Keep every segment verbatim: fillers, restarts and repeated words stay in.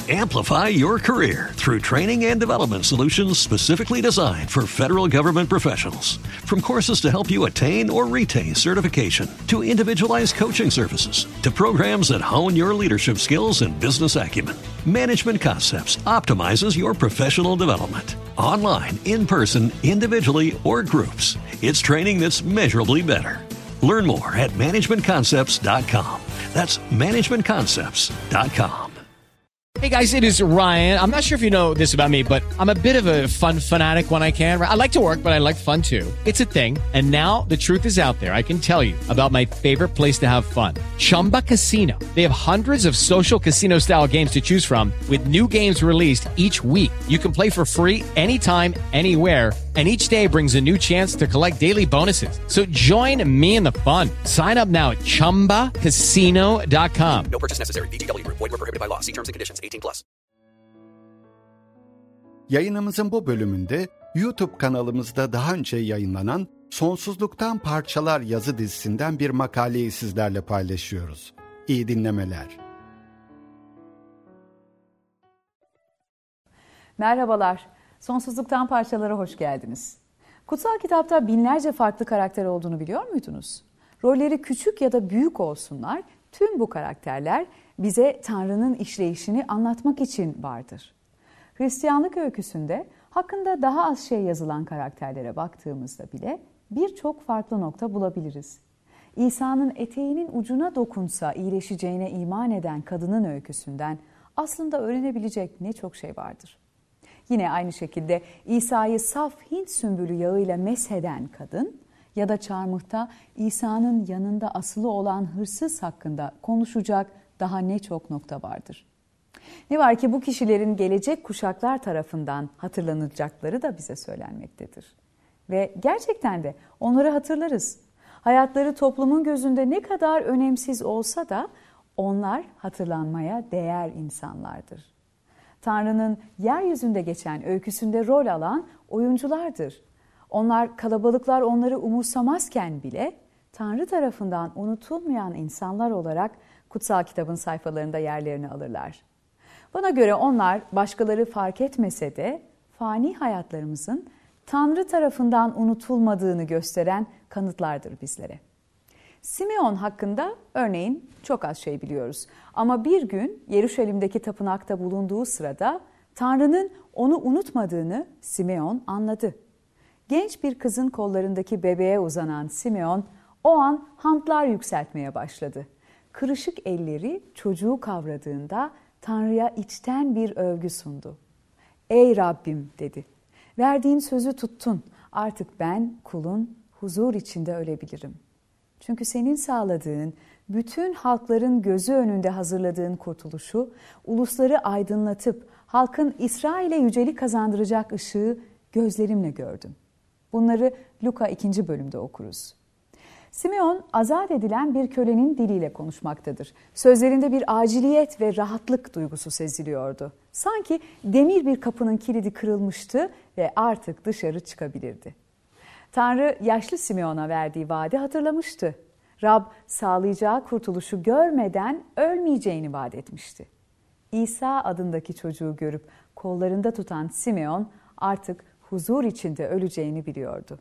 Amplify your career through training and development solutions specifically designed for federal government professionals. From courses to help you attain or retain certification, to individualized coaching services, to programs that hone your leadership skills and business acumen, Management Concepts optimizes your professional development. Online, in person, individually, or groups, it's training that's measurably better. Learn more at management concepts dot com. That's management concepts dot com. Hey guys, it is Ryan. I'm not sure if you know this about me, but I'm a bit of a fun fanatic when I can. I like to work, but I like fun too. It's a thing. And now the truth is out there. I can tell you about my favorite place to have fun. Chumba Casino. They have hundreds of social casino style games to choose from with new games released each week. You can play for free anytime, anywhere. And each day brings a new chance to collect daily bonuses. So join me in the fun. Sign up now at chumba casino dot com. No purchase necessary. V G W Group. Void where prohibited by law. See terms and conditions. eighteen plus. Yayınımızın bu bölümünde YouTube kanalımızda daha önce yayınlanan Sonsuzluktan Parçalar yazı dizisinden bir makaleyi sizlerle paylaşıyoruz. İyi dinlemeler. Merhabalar. Sonsuzluktan Parçalara hoş geldiniz. Kutsal kitapta binlerce farklı karakter olduğunu biliyor muydunuz? Rolleri küçük ya da büyük olsunlar, tüm bu karakterler bize Tanrı'nın işleyişini anlatmak için vardır. Hristiyanlık öyküsünde hakkında daha az şey yazılan karakterlere baktığımızda bile birçok farklı nokta bulabiliriz. İsa'nın eteğinin ucuna dokunsa iyileşeceğine iman eden kadının öyküsünden aslında öğrenebilecek ne çok şey vardır. Yine aynı şekilde İsa'yı saf Hint sümbülü yağıyla mesheden kadın ya da çarmıhta İsa'nın yanında asılı olan hırsız hakkında konuşacak daha ne çok nokta vardır. Ne var ki bu kişilerin gelecek kuşaklar tarafından hatırlanacakları da bize söylenmektedir. Ve gerçekten de onları hatırlarız. Hayatları toplumun gözünde ne kadar önemsiz olsa da onlar hatırlanmaya değer insanlardır. Tanrı'nın yeryüzünde geçen öyküsünde rol alan oyunculardır. Onlar kalabalıklar onları umursamazken bile Tanrı tarafından unutulmayan insanlar olarak kutsal kitabın sayfalarında yerlerini alırlar. Bana göre onlar başkaları fark etmese de fani hayatlarımızın Tanrı tarafından unutulmadığını gösteren kanıtlardır bizlere. Simeon hakkında örneğin çok az şey biliyoruz. Ama bir gün Yeruşalim'deki tapınakta bulunduğu sırada Tanrı'nın onu unutmadığını Simeon anladı. Genç bir kızın kollarındaki bebeğe uzanan Simeon o an hantlar yükseltmeye başladı. Kırışık elleri çocuğu kavradığında Tanrı'ya içten bir övgü sundu. "Ey Rabbim," dedi. "Verdiğin sözü tuttun. Artık ben kulun huzur içinde ölebilirim. Çünkü senin sağladığın, bütün halkların gözü önünde hazırladığın kurtuluşu, ulusları aydınlatıp halkın İsrail'e yücelik kazandıracak ışığı gözlerimle gördüm." Bunları Luka ikinci bölümde okuruz. Simeon azat edilen bir kölenin diliyle konuşmaktadır. Sözlerinde bir aciliyet ve rahatlık duygusu seziliyordu. Sanki demir bir kapının kilidi kırılmıştı ve artık dışarı çıkabilirdi. Tanrı yaşlı Simeon'a verdiği vaadi hatırlamıştı. Rab sağlayacağı kurtuluşu görmeden ölmeyeceğini vaat etmişti. İsa adındaki çocuğu görüp kollarında tutan Simeon artık huzur içinde öleceğini biliyordu.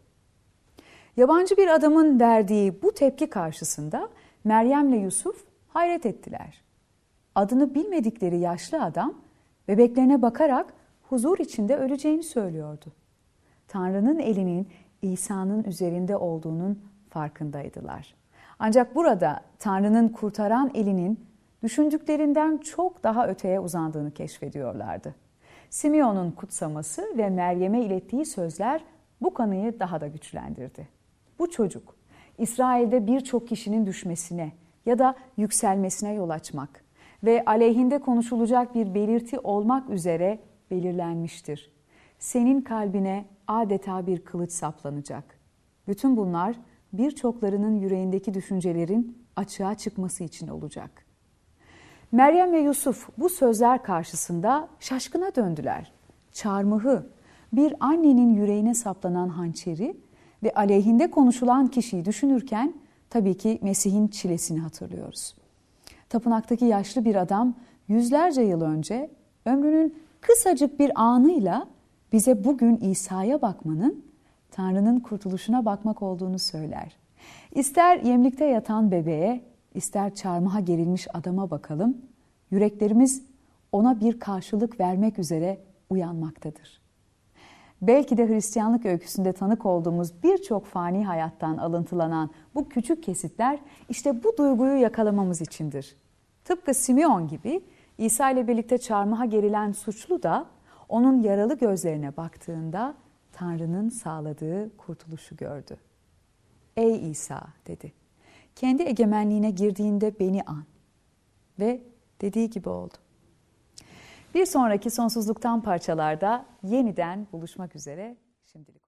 Yabancı bir adamın verdiği bu tepki karşısında Meryem'le Yusuf hayret ettiler. Adını bilmedikleri yaşlı adam bebeklerine bakarak huzur içinde öleceğini söylüyordu. Tanrı'nın elinin İsa'nın üzerinde olduğunun farkındaydılar. Ancak burada Tanrı'nın kurtaran elinin düşündüklerinden çok daha öteye uzandığını keşfediyorlardı. Simeon'un kutsaması ve Meryem'e ilettiği sözler bu kanıyı daha da güçlendirdi. Bu çocuk, İsrail'de birçok kişinin düşmesine ya da yükselmesine yol açmak ve aleyhinde konuşulacak bir belirti olmak üzere belirlenmiştir. Senin kalbine adeta bir kılıç saplanacak. Bütün bunlar birçoklarının yüreğindeki düşüncelerin açığa çıkması için olacak. Meryem ve Yusuf bu sözler karşısında şaşkına döndüler. Çarmıhı, bir annenin yüreğine saplanan hançeri ve aleyhinde konuşulan kişiyi düşünürken tabii ki Mesih'in çilesini hatırlıyoruz. Tapınaktaki yaşlı bir adam yüzlerce yıl önce ömrünün kısacık bir anıyla bize bugün İsa'ya bakmanın, Tanrı'nın kurtuluşuna bakmak olduğunu söyler. İster yemlikte yatan bebeğe, ister çarmıha gerilmiş adama bakalım, yüreklerimiz ona bir karşılık vermek üzere uyanmaktadır. Belki de Hristiyanlık öyküsünde tanık olduğumuz birçok fani hayattan alıntılanan bu küçük kesitler işte bu duyguyu yakalamamız içindir. Tıpkı Simeon gibi İsa ile birlikte çarmıha gerilen suçlu da onun yaralı gözlerine baktığında Tanrı'nın sağladığı kurtuluşu gördü. Ey İsa dedi, kendi egemenliğine girdiğinde beni an. Ve dediği gibi oldu. Bir sonraki Sonsuzluktan Parçalarda yeniden buluşmak üzere. Şimdilik.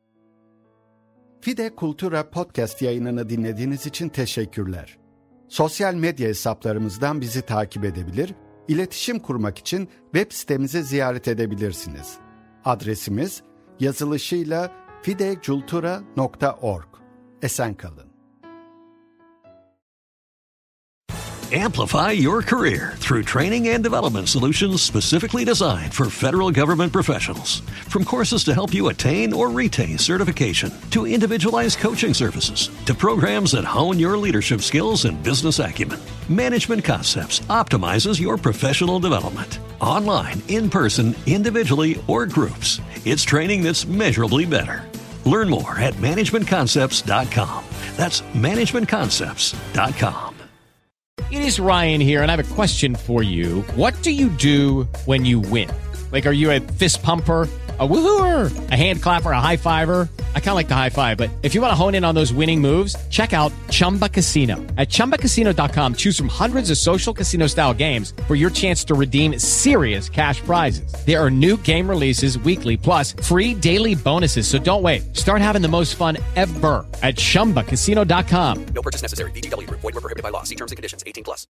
Fide Kultura podcast yayınını dinlediğiniz için teşekkürler. Sosyal medya hesaplarımızdan bizi takip edebilir, iletişim kurmak için web sitemizi ziyaret edebilirsiniz. Adresimiz yazılışıyla fidecultura nokta org. Esen kalın. Amplify your career through training and development solutions specifically designed for federal government professionals. From courses to help you attain or retain certification, to individualized coaching services, to programs that hone your leadership skills and business acumen, Management Concepts optimizes your professional development. Online, in person, individually, or groups, it's training that's measurably better. Learn more at management concepts dot com. That's management concepts dot com. It is Ryan here, and I have a question for you. What do you do when you win? Like, are you a fist pumper, a woohooer, a hand clapper, a high fiver? I kind of like the high five, but if you want to hone in on those winning moves, check out Chumba Casino. At chumba casino dot com, choose from hundreds of social casino-style games for your chance to redeem serious cash prizes. There are new game releases weekly, plus free daily bonuses, so don't wait. Start having the most fun ever at chumba casino dot com. No purchase necessary. V G W Group. Void where prohibited by law. See terms and conditions. eighteen plus.